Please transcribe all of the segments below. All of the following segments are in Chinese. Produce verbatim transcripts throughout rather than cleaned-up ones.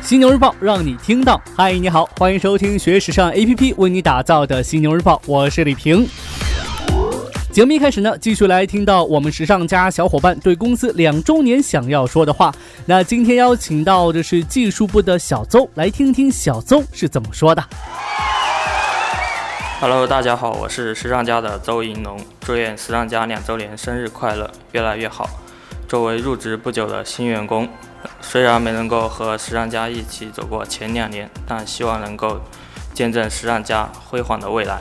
犀牛日报让你听到。嗨，你好，欢迎收听学时尚 A P P 为你打造的犀牛日报，我是李平。节目一开始呢，继续来听到我们时尚家小伙伴对公司两周年想要说的话。那今天邀请到的是技术部的小邹，来听听小邹是怎么说的。 Hello， 大家好，我是时尚家的邹银龙，祝愿时尚家两周年生日快乐，越来越好。作为入职不久的新员工，虽然没能够和时尚家一起走过前两年，但希望能够见证时尚家辉煌的未来。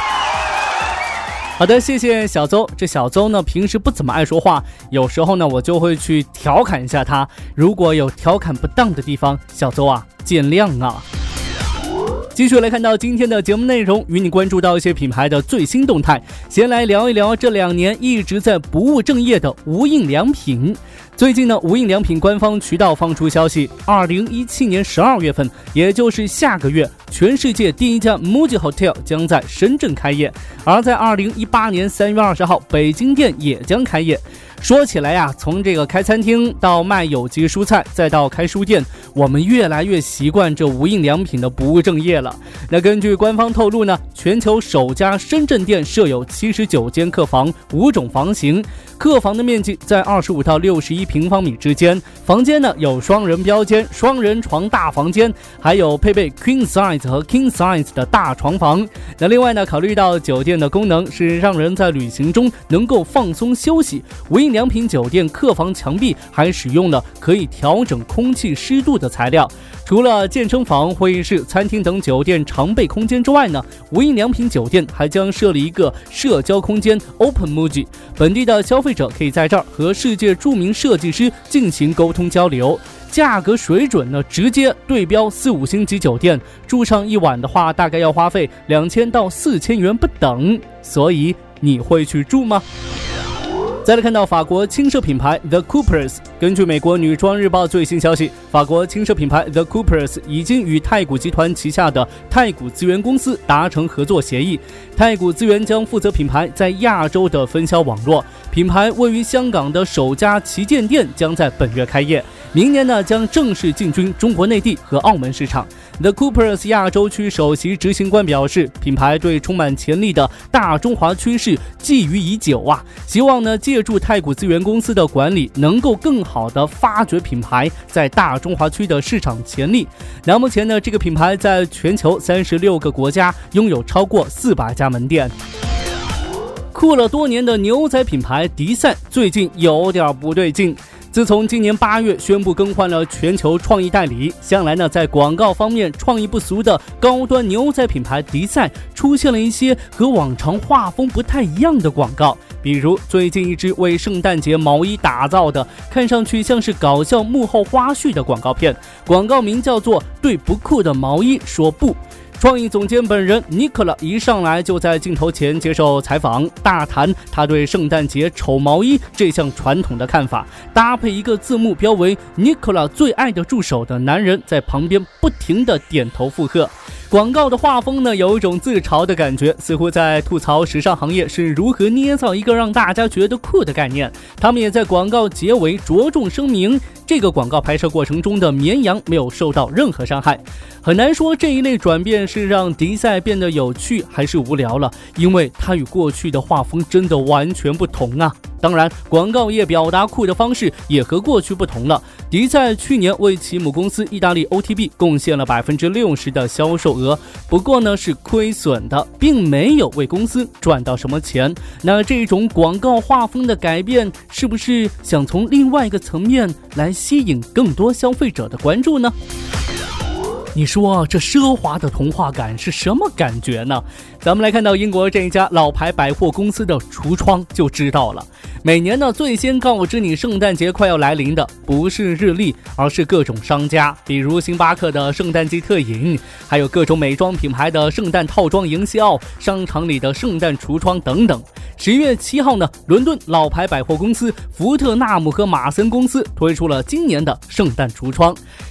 好的，谢谢小邹。这小邹呢，平时不怎么爱说话，有时候呢，我就会去调侃一下他。如果有调侃不当的地方，小邹啊，见谅啊。继续来看到今天的节目内容，与你关注到一些品牌的最新动态。先来聊一聊这两年一直在不务正业的无印良品。最近呢，无印良品官方渠道放出消息，二零一七年十二月份，也就是下个月，全世界第一家 Muji Hotel 将在深圳开业，而在二零一八年三月二十号，北京店也将开业。说起来呀，从这个开餐厅到卖有机蔬菜，再到开书店，我们越来越习惯这无印良品的不务正业了。那根据官方透露呢，全球首家深圳店设有七十九间客房，五种房型，客房的面积在二十五到六十一平方米之间，房间呢有双人标间、双人床大房间，还有配备 Queen Size 和 King Size 的大床房。那另外呢，考虑到酒店的功能是让人在旅行中能够放松休息，无印良品酒店客房墙壁还使用了可以调整空气湿度的材料。除了健身房、会议室、餐厅等酒店常备空间之外呢，无印良品酒店还将设立一个社交空间 Open Muji， 本地的消费者可以在这儿和世界著名设计师进行沟通交流。价格水准呢，直接对标四五星级酒店，住上一晚的话，大概要花费两千到四千元不等。所以你会去住吗？再来看到法国轻奢品牌 The Coopers， 根据美国女装日报最新消息，法国轻奢品牌 The Coopers 已经与太古集团旗下的太古资源公司达成合作协议，太古资源将负责品牌在亚洲的分销网络，品牌位于香港的首家旗舰店将在本月开业，明年呢将正式进军中国内地和澳门市场。The Coopers 亚洲区首席执行官表示，品牌对充满潜力的大中华趋势觊觎已久啊，希望呢借助太古资源公司的管理，能够更好的发掘品牌在大中华区的市场潜力。那目前呢，这个品牌在全球三十六个国家拥有超过四百家门店。酷了多年的牛仔品牌迪赛最近有点不对劲。自从今年八月宣布更换了全球创意代理，向来呢在广告方面创意不俗的高端牛仔品牌迪赛出现了一些和往常画风不太一样的广告，比如最近一支为圣诞节毛衣打造的，看上去像是搞笑幕后花絮的广告片，广告名叫做对不酷的毛衣说不。创意总监本人尼克拉一上来就在镜头前接受采访，大谈他对圣诞节丑毛衣这项传统的看法，搭配一个字幕标为尼克拉最爱的助手的男人在旁边不停地点头附和。广告的画风呢，有一种自嘲的感觉，似乎在吐槽时尚行业是如何捏造一个让大家觉得酷的概念。他们也在广告结尾着重声明，这个广告拍摄过程中的绵羊没有受到任何伤害。很难说这一类转变是让迪赛变得有趣还是无聊了，因为它与过去的画风真的完全不同啊。当然，广告业表达酷的方式也和过去不同了。迪赛去年为其母公司意大利 O T B 贡献了 百分之六十 的销售额，不过呢是亏损的，并没有为公司赚到什么钱。那这种广告画风的改变，是不是想从另外一个层面来吸引更多消费者的关注呢？你说这奢华的童话感是什么感觉呢？咱们来看到英国这一家老牌百货公司的橱窗就知道了。每年呢，最先告知你圣诞节快要来临的不是日历，而是各种商家，比如星巴克的圣诞季特饮，还有各种美妆品牌的圣诞套装营销，商场里的圣诞橱窗等等。十月七号呢，伦敦老牌百货公司福特纳姆和马森公司推出了今年的圣诞橱窗。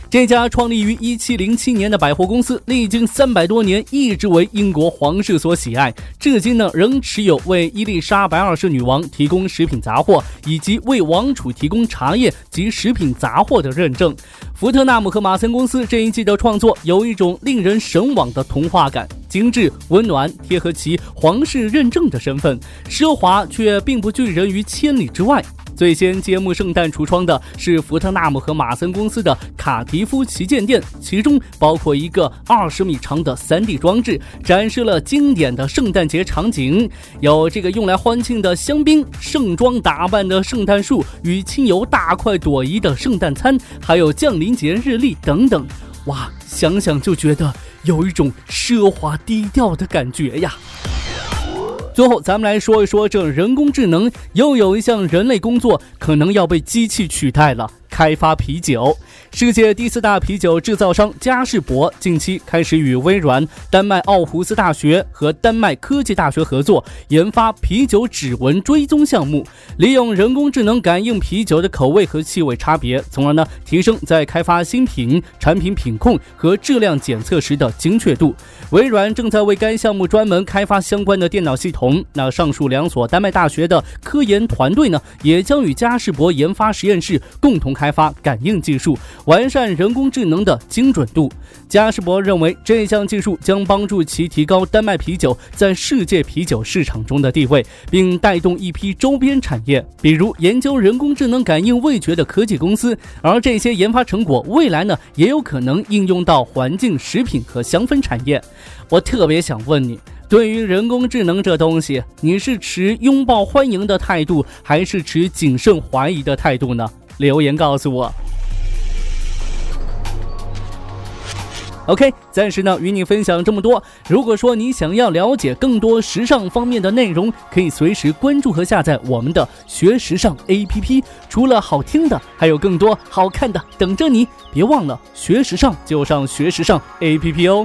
这家创立于一七零七年的百货公司，历经三百多年，一直为英国皇室所喜爱，至今呢仍持有为伊丽莎白二世女王提供食品杂货，以及为王储提供茶叶及食品杂货的认证。福特纳姆和马森公司这一季的创作有一种令人神往的童话感，精致、温暖，贴合其皇室认证的身份，奢华却并不拒人于千里之外。最先揭幕圣诞橱窗的是福特纳姆和马森公司的卡迪夫旗舰店，其中包括一个二十米长的 三 D 装置，展示了经典的圣诞节场景，有这个用来欢庆的香槟、盛装打扮的圣诞树与亲友大快朵颐的圣诞餐，还有降临节日历等等。哇，想想就觉得有一种奢华低调的感觉呀。最后咱们来说一说，这人工智能又有一项人类工作可能要被机器取代了，开发啤酒。世界第四大啤酒制造商嘉士伯近期开始与微软、丹麦奥胡斯大学和丹麦科技大学合作，研发啤酒指纹追踪项目，利用人工智能感应啤酒的口味和气味差别，从而呢提升在开发新品、产品品控和质量检测时的精确度。微软正在为该项目专门开发相关的电脑系统，那上述两所丹麦大学的科研团队呢，也将与嘉士伯研发实验室共同开发感应技术，完善人工智能的精准度。嘉士伯认为这项技术将帮助其提高丹麦啤酒在世界啤酒市场中的地位，并带动一批周边产业，比如研究人工智能感应味觉的科技公司，而这些研发成果未来呢，也有可能应用到环境、食品和香氛产业。我特别想问你，对于人工智能这东西，你是持拥抱欢迎的态度，还是持谨慎怀疑的态度呢？留言告诉我。OK， 暂时呢与你分享这么多。如果说你想要了解更多时尚方面的内容，可以随时关注和下载我们的学时尚 A P P。除了好听的，还有更多好看的等着你。别忘了学时尚就上学时尚 A P P 哦。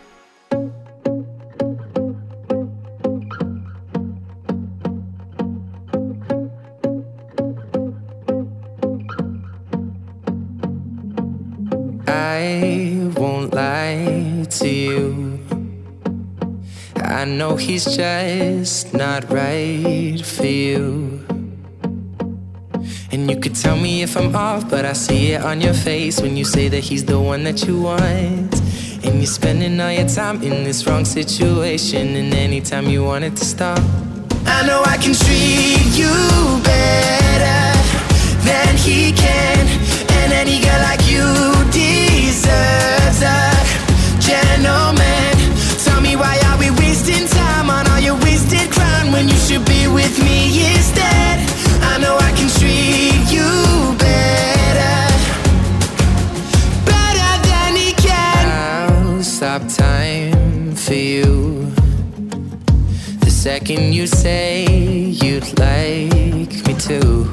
I won't lie to you. I know he's just not right for you. And you could tell me if I'm off, but I see it on your face when you say that he's the one that you want. And you're spending all your time in this wrong situation, and anytime you want it to stop, I know I can treat you better than he can. And any girl like you deserves a gentleman. Tell me, why are we wasting time on all your wasted crown when you should be with me instead? I know I can treat you better, better than he can. I'll stop time for you the second you say you'd like me to.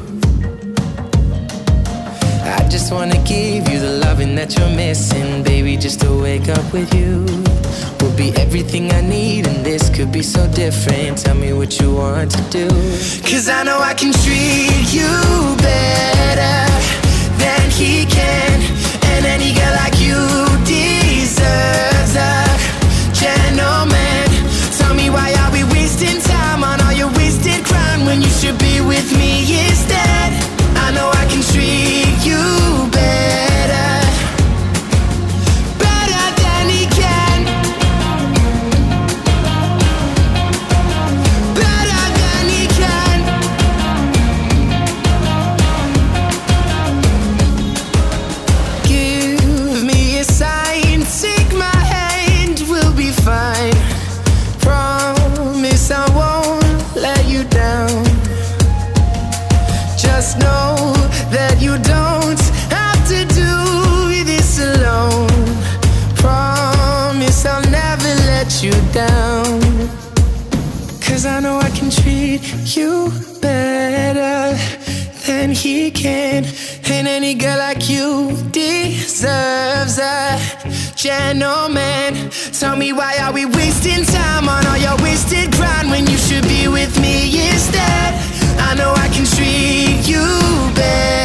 I just wanna give you the loving that you're missing, baby, just to wake up with you will be everything I need, and this could be so different. Tell me what you want to do, 'cause I know I can treat you better than he can. And any girl like you deserves a gentleman. Tell me, why are we wasting time on all your wasted crown when you should be with me instead? I know I can treat you better, better than he can, better than he can. Give me a sign, take my hand, we'll be fine. Promise I won't let you down. Just know that you don't have to do this alone. Promise I'll never let you down, 'cause I know I can treat you better than he can. And any girl like you deserves a gentleman. Tell me, why are we wasting time on all your wasted grind when you should be with me instead? I know I can treat you better.